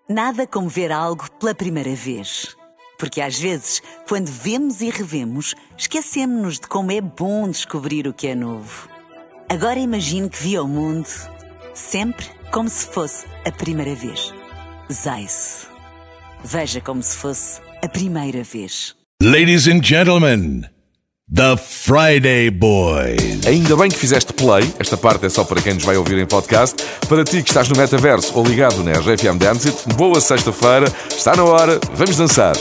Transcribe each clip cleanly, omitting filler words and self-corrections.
Nada como ver algo pela primeira vez. Porque às vezes, quando vemos e revemos, esquecemos-nos de como é bom descobrir o que é novo. Agora imagine que viu o mundo sempre como se fosse a primeira vez. Zais. Veja como se fosse a primeira vez. Ladies and gentlemen, The Friday Boys. Ainda bem que fizeste play, esta parte é só para quem nos vai ouvir em podcast. Para ti que estás no metaverso ou ligado na RFM Dance It, boa sexta-feira, está na hora, vamos dançar.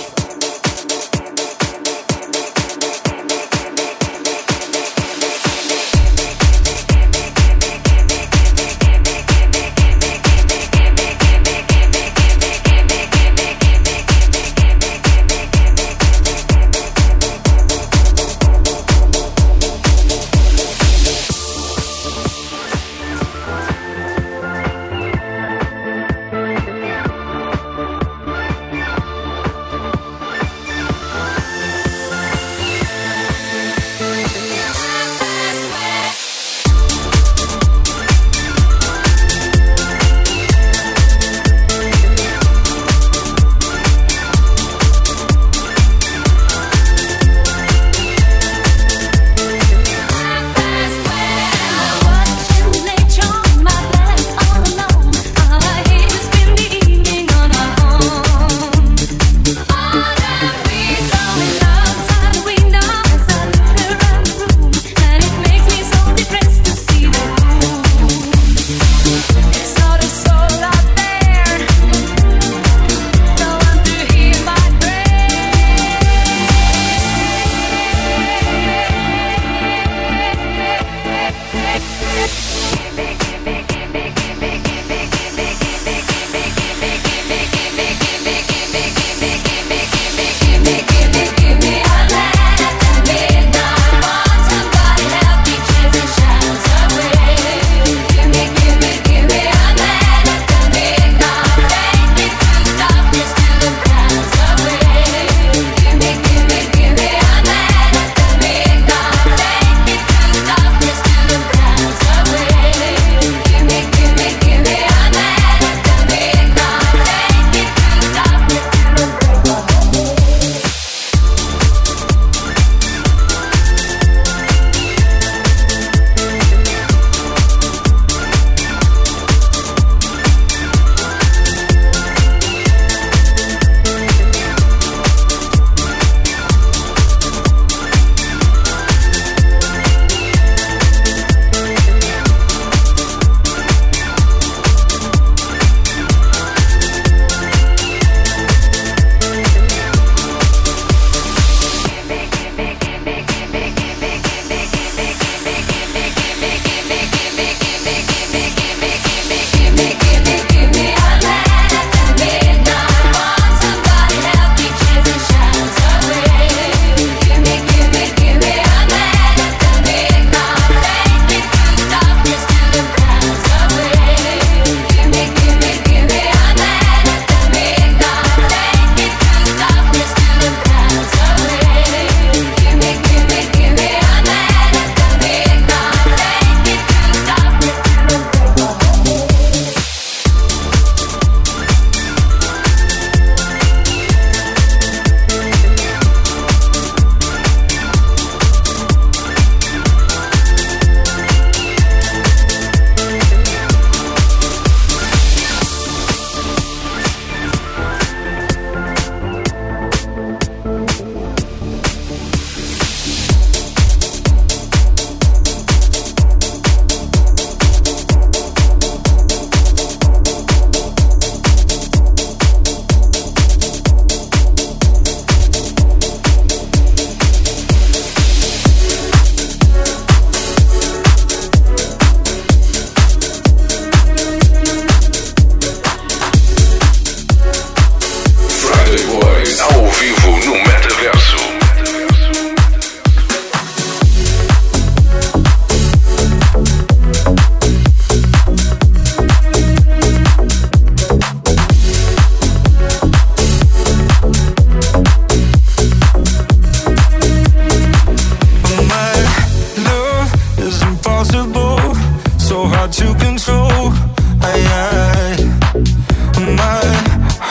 hard to control. My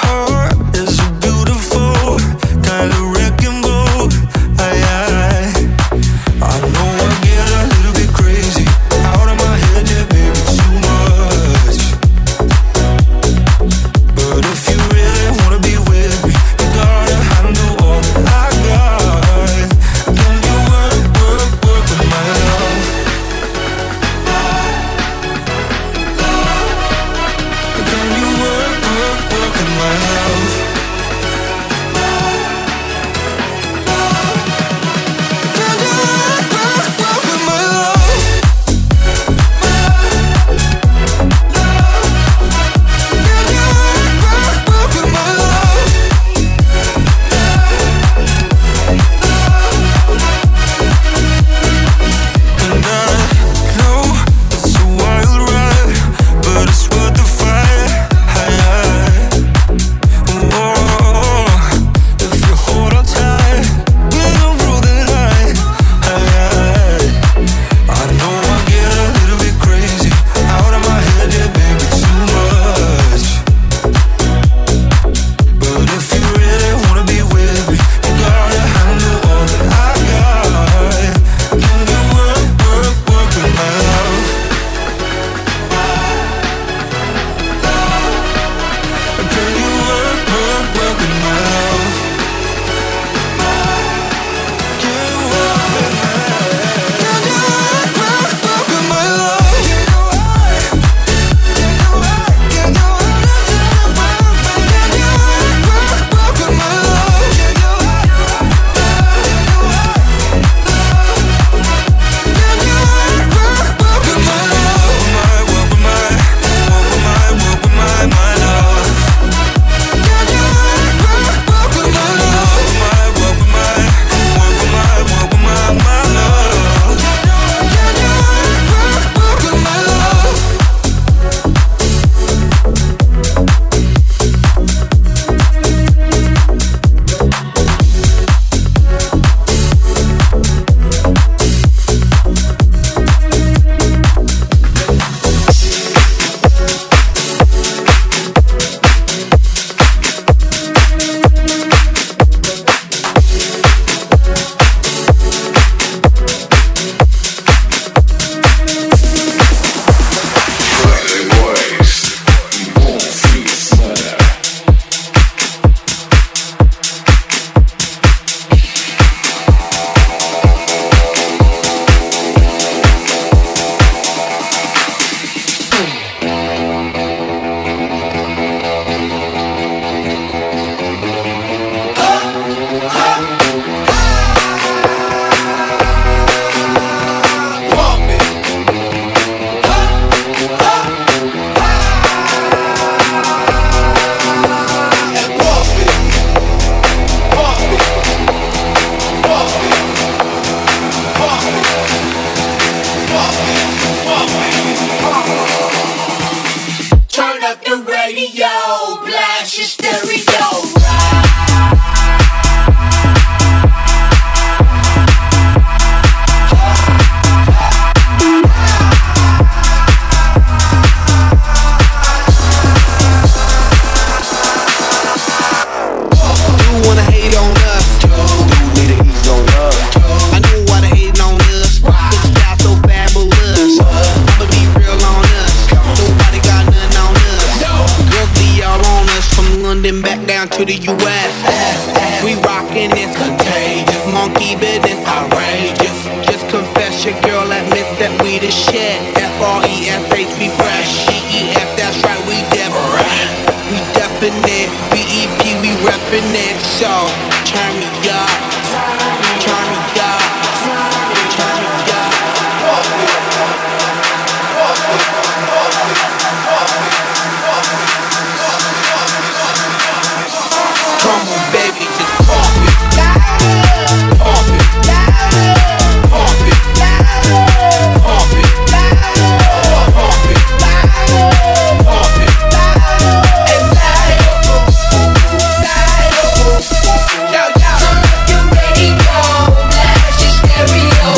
radio, blast your stereo. Back down to the U.S. We rockin' this contagious, monkey business outrageous. Just confess your girl admits that we the shit. F-R-E-S-H, we fresh. G-E-F, that's right, we different. We definite, B-E-P, we reppin' it. So, turn me up, turn me up, turn me up. Come on, baby, just pump it, pump it, pump it, pump it, pump it, pump it, and yo, yo. Turn up your radio, blast your stereo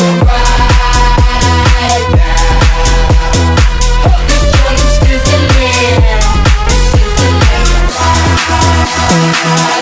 right now. This joint's sizzling, right.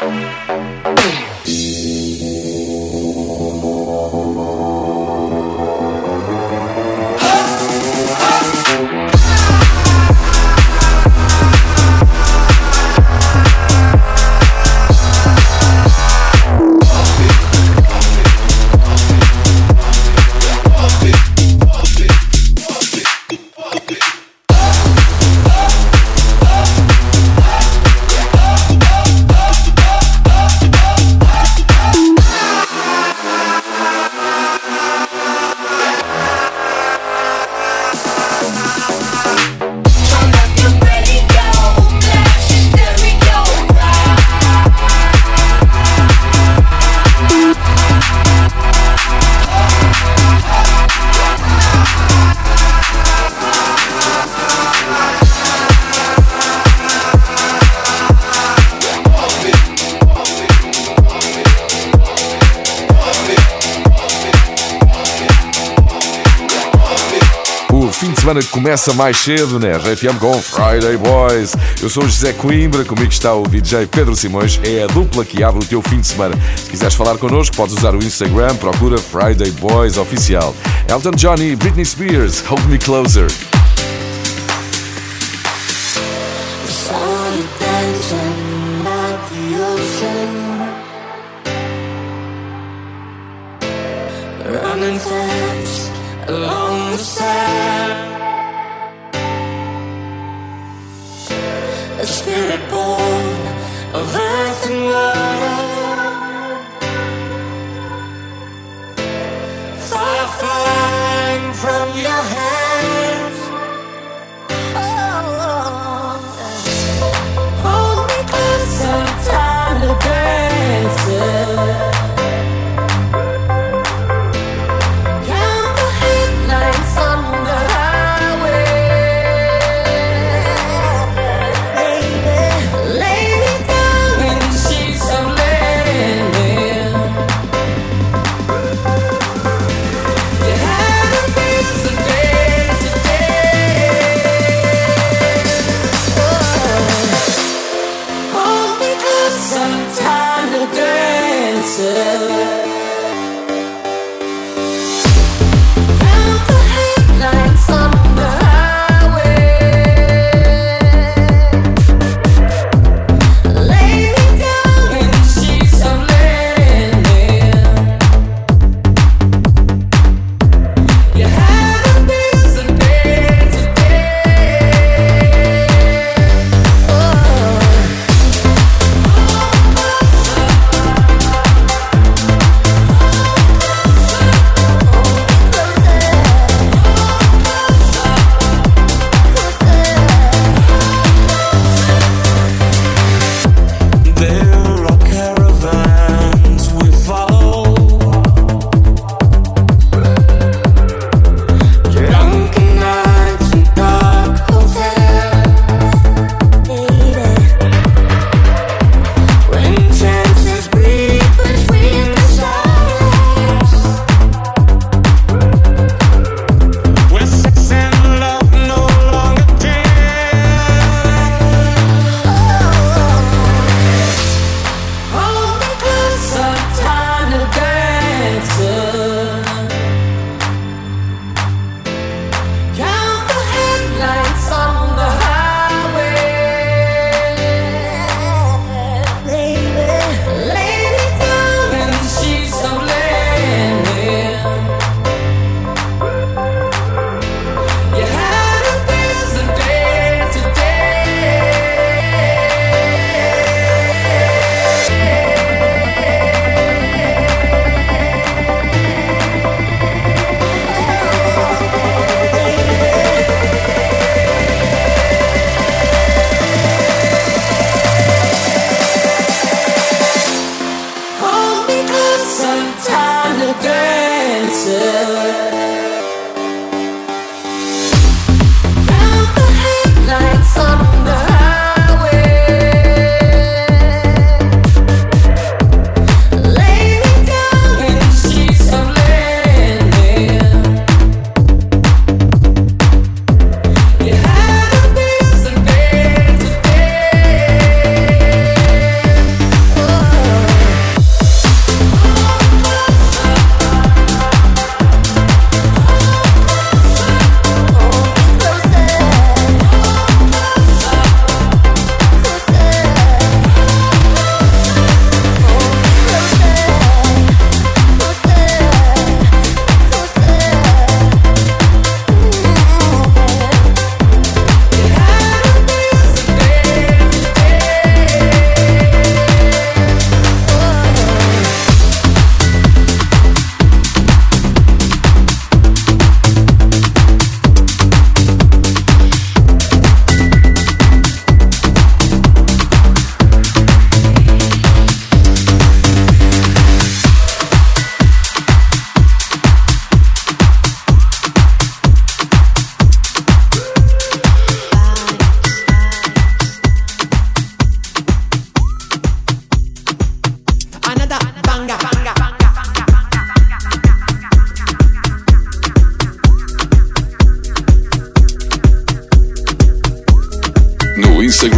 Semana que começa mais cedo, né? RFM com Friday Boys. Eu sou o José Coimbra, comigo está o DJ Pedro Simões. É a dupla que abre o teu fim de semana. Se quiseres falar connosco, podes usar o Instagram, procura Friday Boys Oficial. Elton John e Britney Spears, Hold Me Closer. Running fast along the sand, a spirit born of earth and water, fire flying from your hands. Oh, hold me closer, time to dance. Lay me down in the sheets of lead.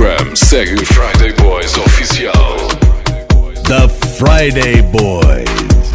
Instagram, segue Friday Boys Oficial. The Friday Boys.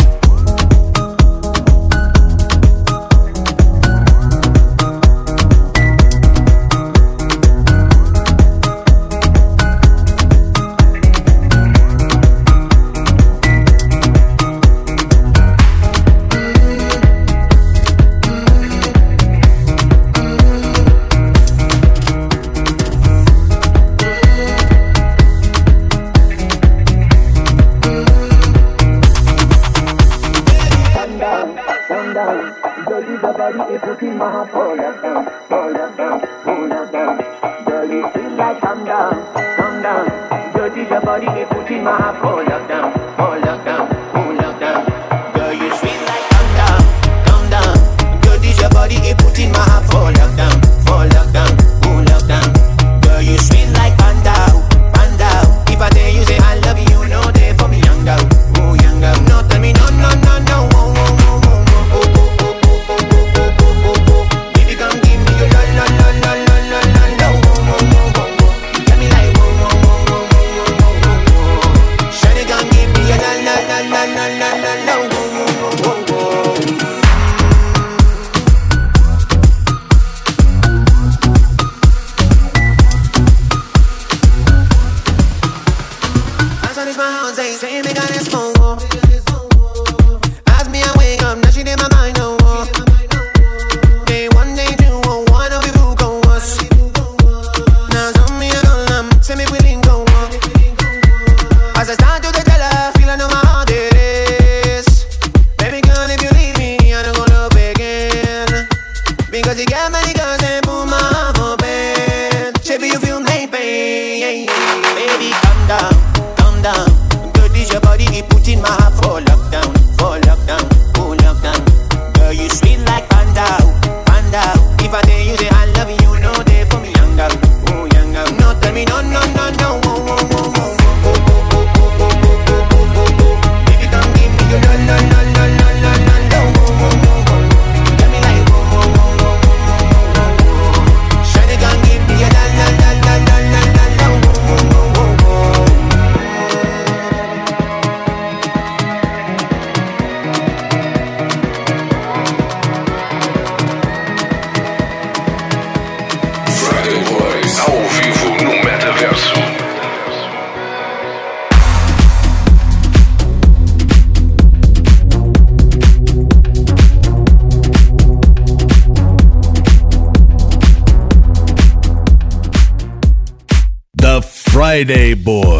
Friday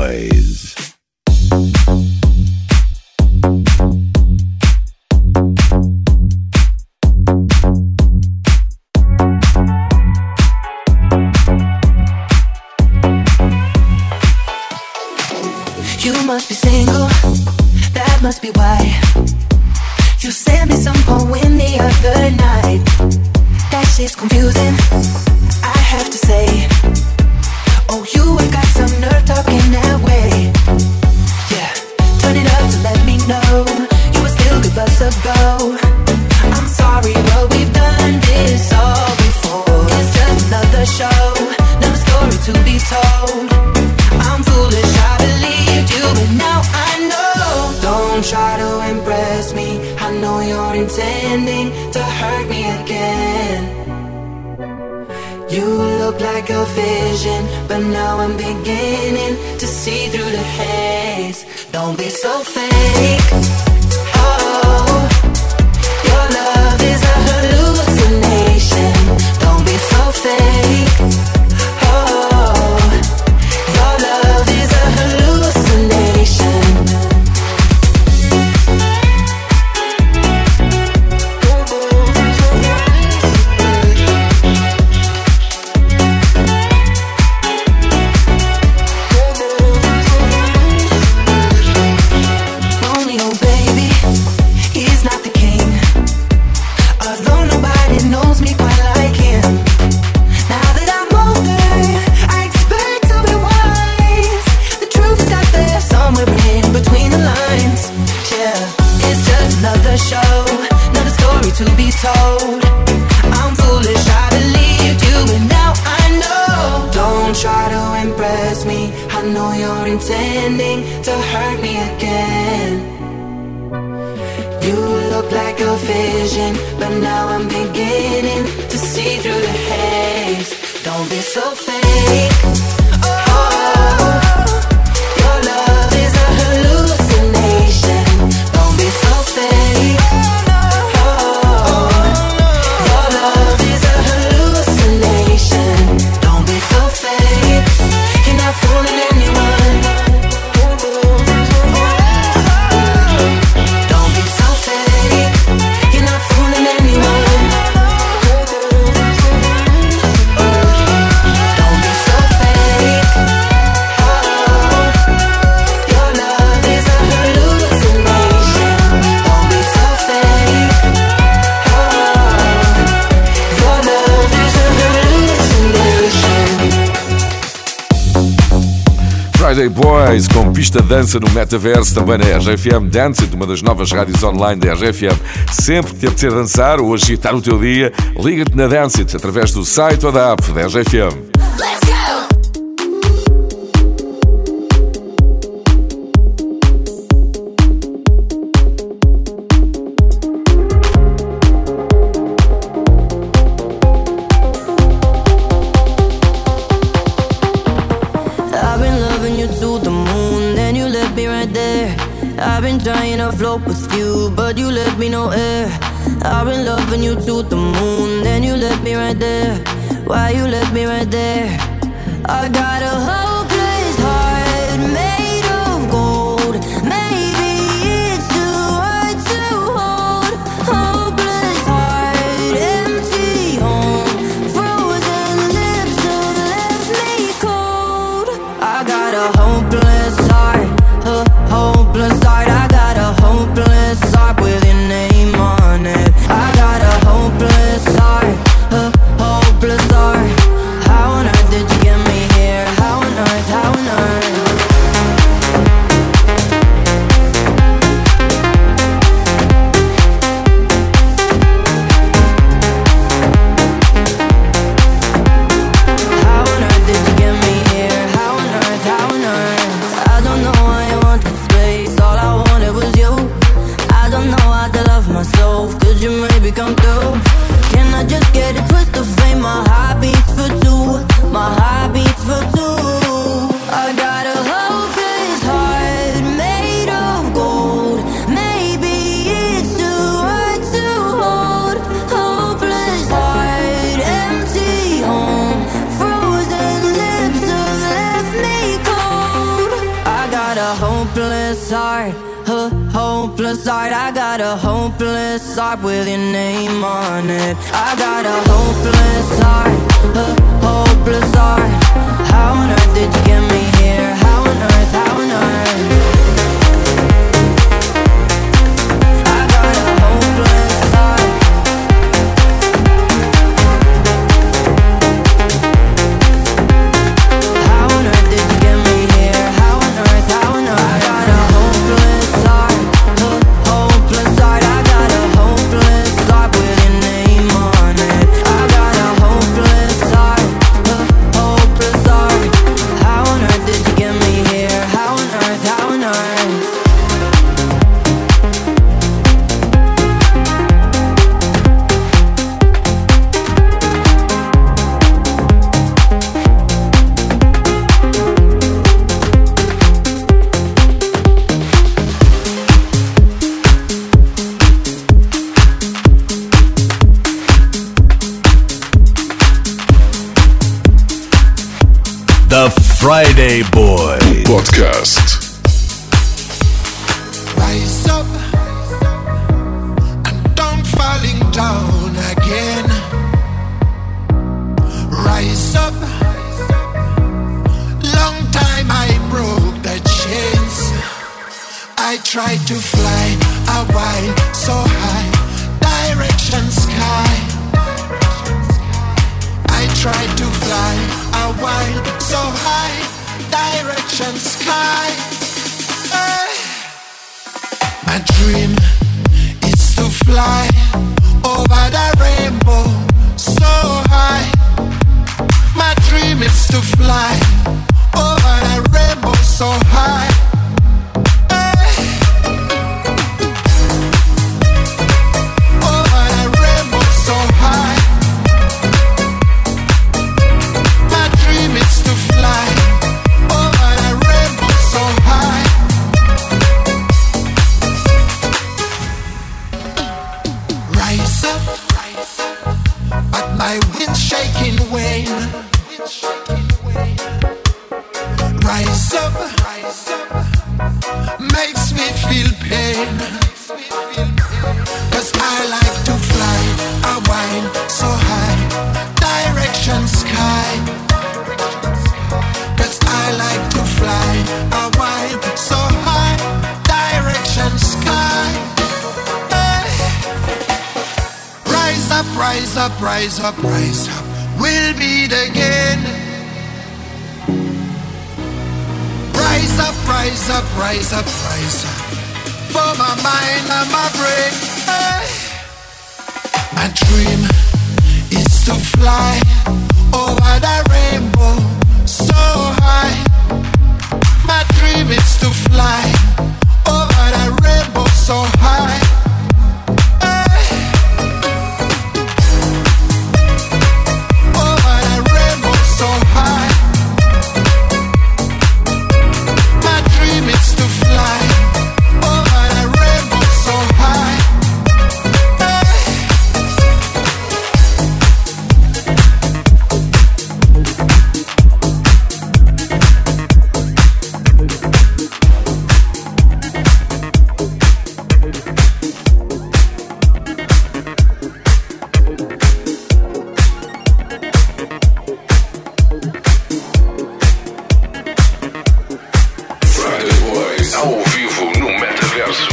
Boys. You must be single, that must be why you sent me some poem the other night. That shit's confusing, I have to say. Oh, you have got some nerve talking that way. Yeah, turn it up to let me know you would still give us a go. I'm sorry, but we've done this all before. It's just another show, another story to be told. I'm foolish, I believed you, but now I know. Don't try to impress me, I know you're intending to hurt me again. You look like a vision, but now I'm beginning to see through the haze. Don't be so fake. Oh, your love is a hallucination. Don't be so fake. Oh, your love is a hallucination. To be told, I'm foolish, I believed you, but now I know. Don't try to impress trust me, I know you're intending to hurt me again. You look like a vision, but now I'm beginning to see through the haze. Don't be so fake. Oh, your love is a hallucination. Don't be so fake. Oh, your love is a hallucination. Don't be so fake. You're not fooling anyone. Don't be so fake. You're not fooling anyone. Don't be so fake. Oh, your love is a hallucination. Don't be so fake. Oh, your love is a hallucination. Friday Boys com pista de dança no metaverso, também na RGFM Dance, uma das novas rádios online da RGFM. Sempre que te apetecer dançar ou agitar o teu dia, liga-te na Dance It através do site ou da app da RGFM. Let's go! I've been loving you to the moon, then you left me right there. I've been trying to float with you, but you left me no air. I've been loving you to the moon, then you left me right there. Why you left me right there? I got a hopeless heart made of gold. Maybe it's too hard to hold. Hopeless heart, empty home, frozen lips that left me cold. I got a hopeless heart, a hopeless heart. I got a hopeless heart with your name on it. I got a hopeless heart, a hopeless heart. How on earth did you get me here? How on earth, how on earth? How on earth did you get me here? How on earth, how on earth? I don't know why I wanted space. All I wanted was you. I don't know how to love myself. Could you maybe come through? Can I just get a twist of fame? My heart beats for two. My heart beats for two. I got a hopeless heart made of gold. Maybe it's too hard to hold. Hopeless heart, empty home, frozen lips have left me cold. I got a hopeless heart, a hopeless heart. I got a hopeless heart with your name on it. I got a hopeless heart, a hopeless heart. How on earth did you get me here? How on earth, how on earth? I got a hopeless heart. How on earth did you get me here? How on earth, how on earth? I got a hopeless heart, a hopeless heart. I got a hopeless heart with your name on it. I got a hopeless heart, a hopeless heart. How on earth did you get me here? How on earth, how on earth? The Friday Boys Podcast. Rise up and don't falling down again. Rise up. Long time I broke the chains. I tried to fly a while so high, direction sky. I tried to fly a while so high, direction sky. Hey. My dream is to fly over the rainbow so high. My dream is to fly over the rainbow so high. Over the rainbow so high. My dream is to fly over the rainbow so high. Rise up, but my wind's shaking wane. Rise up, makes me feel pain. 'Cause I like to fly, I wind so high, direction sky. 'Cause I like to fly, I wind so high, direction sky. Hey. Rise up, rise up, rise up, rise up, we'll meet again. Rise up, rise up, rise up, rise up, for my mind and my brain. Hey. My dream is to fly over the rainbow so high. My dream is to fly over the rainbow so high. Hey. Over the rainbow so high. My dream is to fly over the rainbow so high. Hey. Friday Boys ao vivo no Metaverso.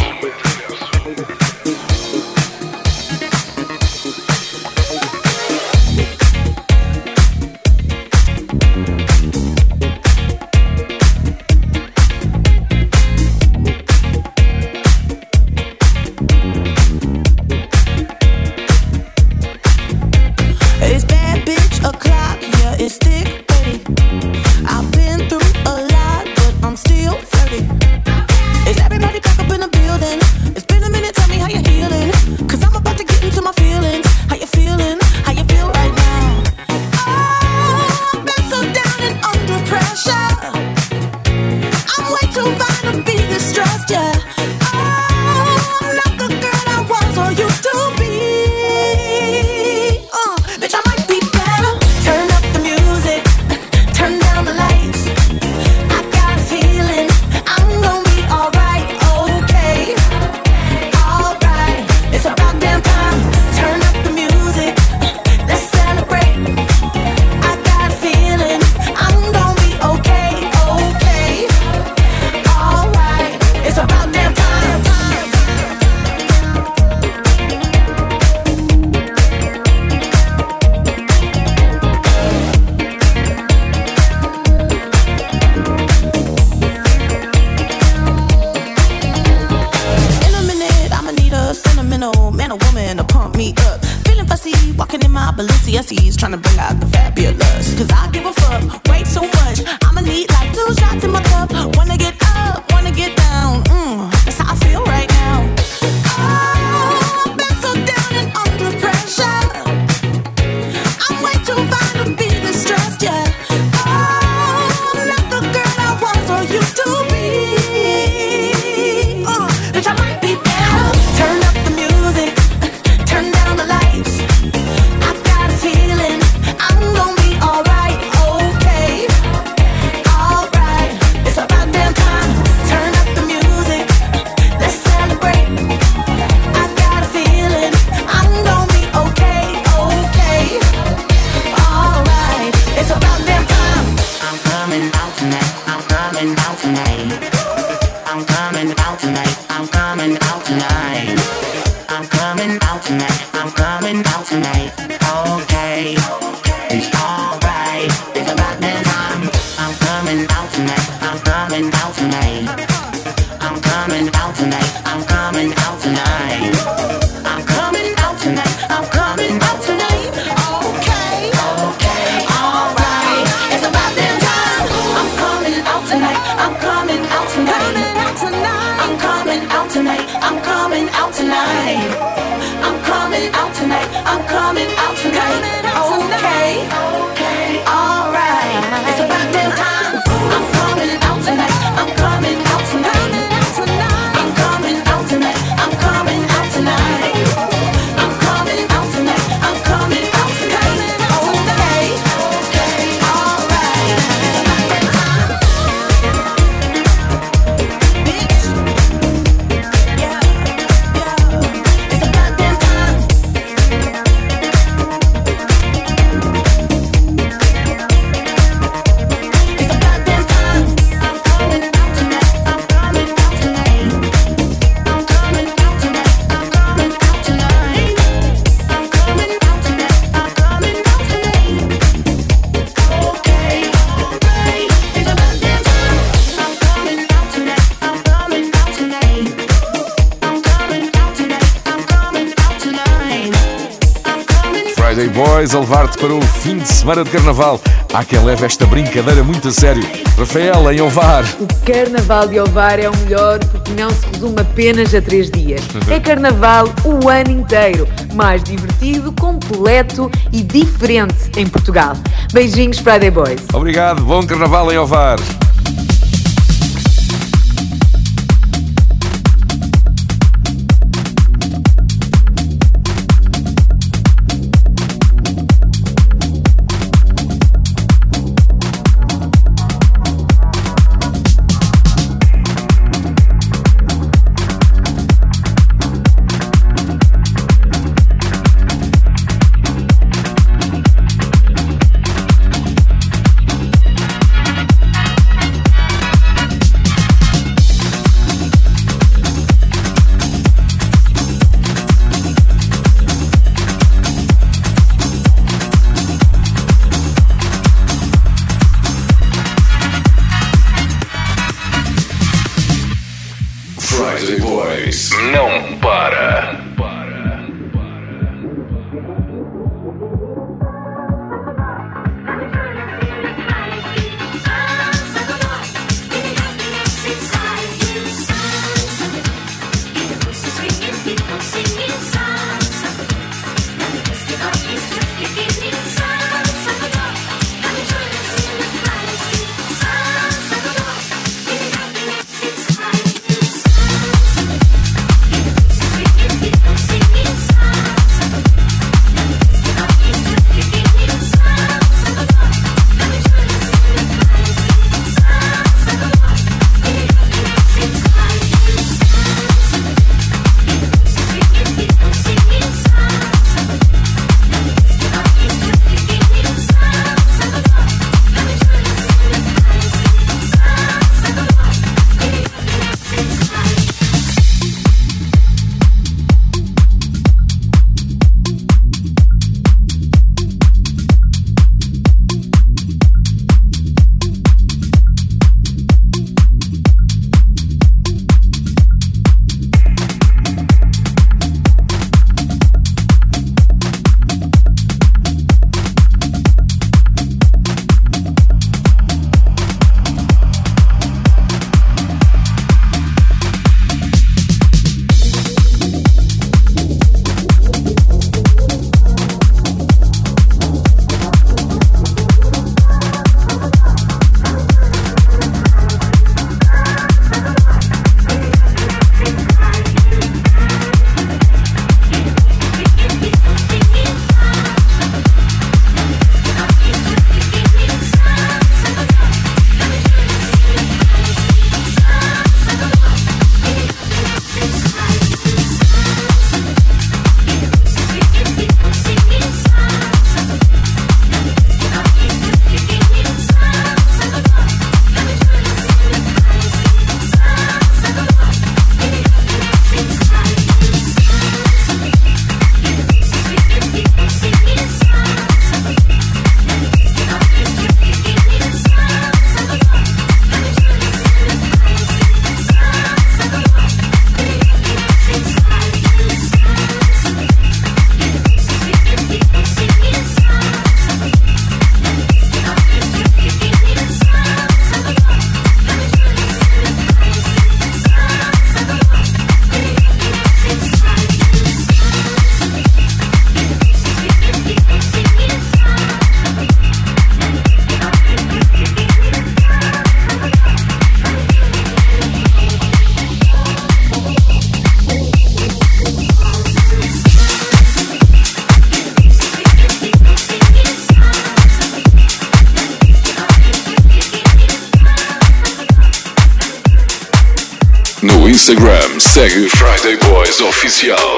It's bad bitch o'clock, yeah, it's thick, ready. I've been through a lot, but I'm still flirty. Is everybody back up in the building? It's been a minute, tell me how you're healing. 'Cause I'm about to get into my feelings. How you feeling? How you feel right now? Oh, I've been so down and under pressure. I'm way too fine to be distressed, yeah. Oh, I'm not the girl I was or used to be. Bitch, I might be better. Turn up the music, turn down the lights. I got a feeling I'm gonna be alright, okay. Alright, it's about damn time. Turn up the music, let's celebrate. I got a feeling I'm gonna be okay, okay. Alright, it's about damn time. In a minute, I'ma need a sentimental man or woman to pump me up. Feeling fussy, walking in my Balenciennes, trying to bring out the fabulous. 'Cause I give a fuck way too much. I'ma need like 2 shots in my cup. Wanna get up, wanna get down. That's how I feel right now. Oh, I've been so down and under pressure. I'm way too fine to be distressed, yeah. Oh, I'm not the girl I was or used to be. Bitch, I might be better. Turn up the music, turn down the lights. I've got a feeling I'm gonna be alright, okay. Alright, it's about damn time. Turn up the music, let's celebrate. I got a feeling I'm gonna be okay, okay. Alright, it's about damn time. I'm coming out tonight. I'm coming out tonight. I'm coming out tonight. I'm coming out tonight. I'm coming out tonight. I'm coming out tonight. Okay, it's alright. It's about that time. I'm coming out tonight. I'm coming out tonight. I'm coming out tonight. I'm coming out tonight. I'm coming out tonight. I'm coming out tonight. Okay, okay, alright. It's about that time. I'm coming. tonight. I'm coming out tonight. I'm coming out tonight. I'm coming out tonight. I'm coming out tonight. I'm coming out tonight. Okay, alright. It's about that time. I'm coming out tonight. I'm coming out tonight. I'm coming out tonight. I'm coming out tonight. I'm coming out tonight. I'm coming out tonight. Okay, alright. It's about that time. Bitch. Yeah. It's about that time. It's about that time. I'm coming out tonight. I'm coming out tonight. I'm coming out tonight. I'm coming out tonight. I'm coming out tonight. I'm coming out tonight. Okay, alright. It's about that time. I'm coming out tonight. I'm coming out tonight. I'm coming out tonight. I'm coming out tonight. I'm coming. Friday Boys a levar-te para o fim de semana de Carnaval. Há quem leve esta brincadeira muito a sério. Rafael, em Ovar. O Carnaval de Ovar é o melhor porque não se resume apenas a 3 dias. É Carnaval o ano inteiro. Mais divertido, completo e diferente em Portugal. Beijinhos, Friday Boys. Obrigado, bom Carnaval em Ovar. No Instagram, segue Friday Boys Oficial.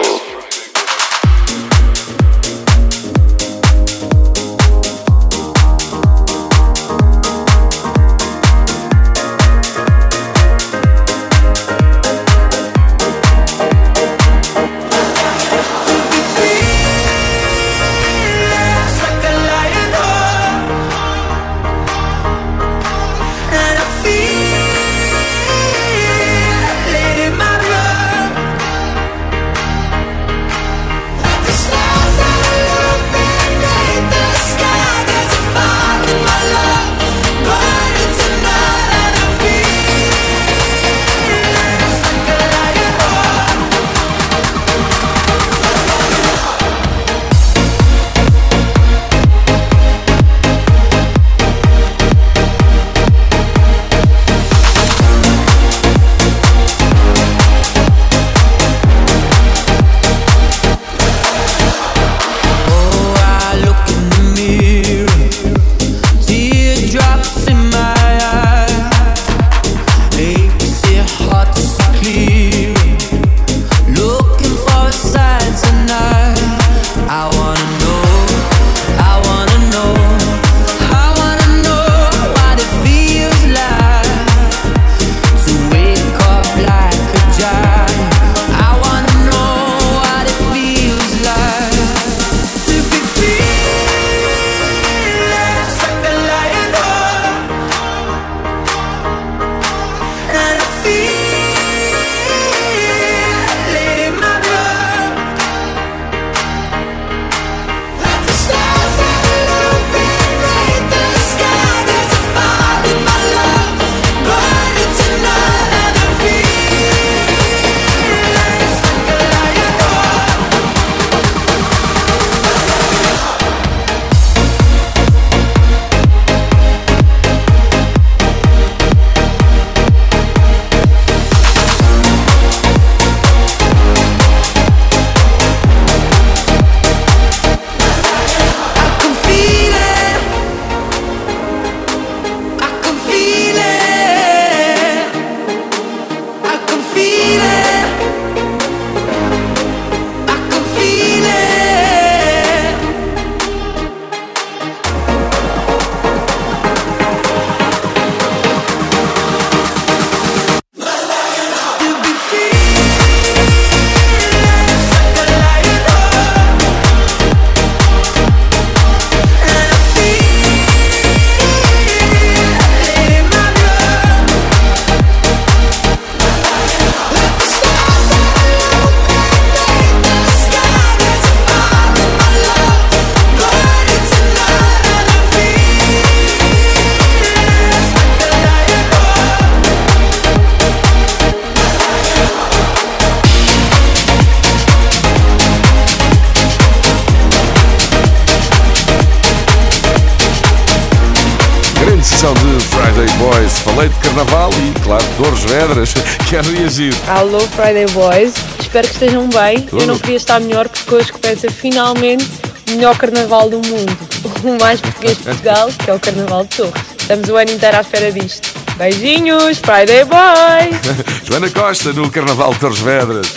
De Friday Boys, falei de carnaval e, claro, Torres Vedras. Quero reagir. Alô, Friday Boys, espero que estejam bem. Tudo. Eu não podia estar melhor porque hoje começa finalmente o melhor carnaval do mundo, o mais português de Portugal, que é o Carnaval de Torres. Estamos o ano inteiro à espera disto. Beijinhos, Friday Boys! Joana Costa no Carnaval de Torres Vedras.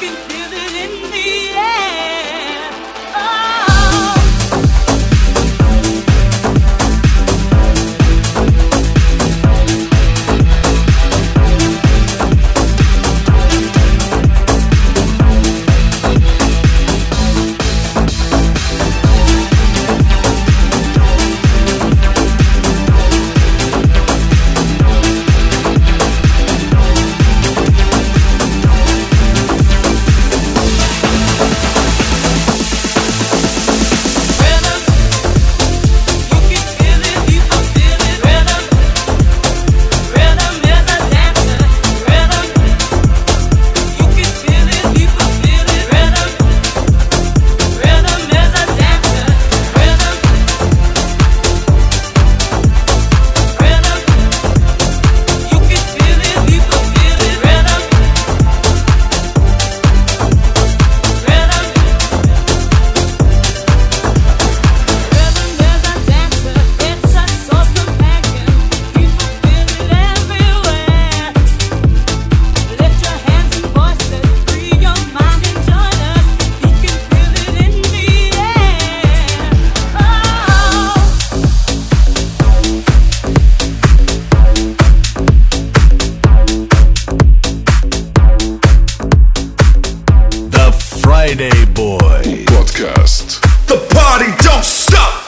Friday Boy Podcast. The party don't stop.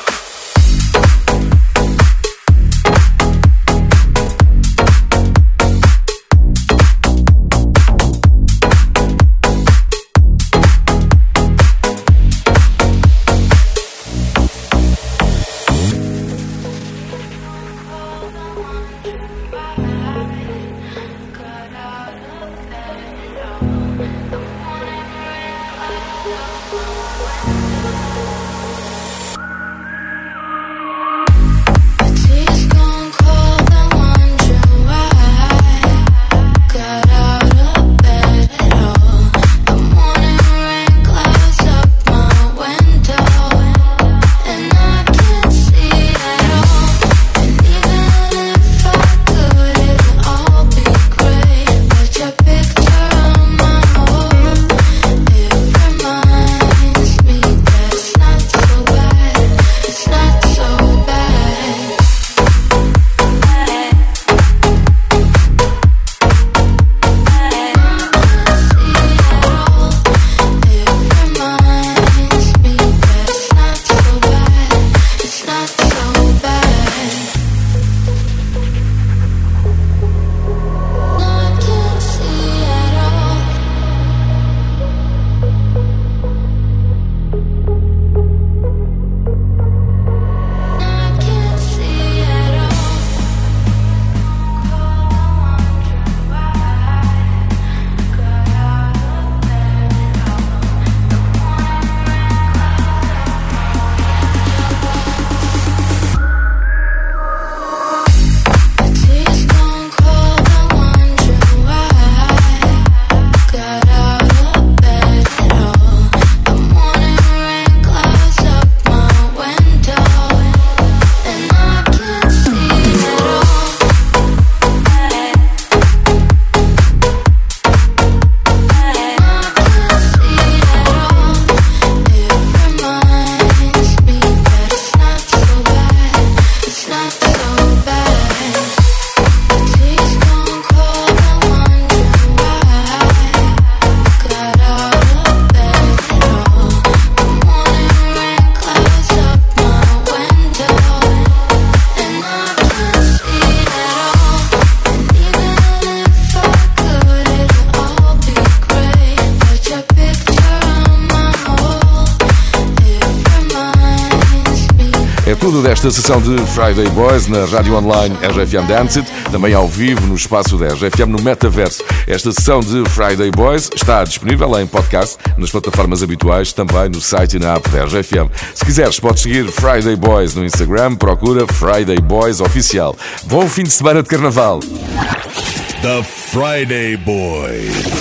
É tudo desta sessão de Friday Boys na rádio online RFM Dance It, também ao vivo no espaço da RFM no Metaverso. Esta sessão de Friday Boys está disponível em podcast nas plataformas habituais, também no site e na app da RFM. Se quiseres, podes seguir Friday Boys no Instagram, procura Friday Boys Oficial. Bom fim de semana de Carnaval! The Friday Boy.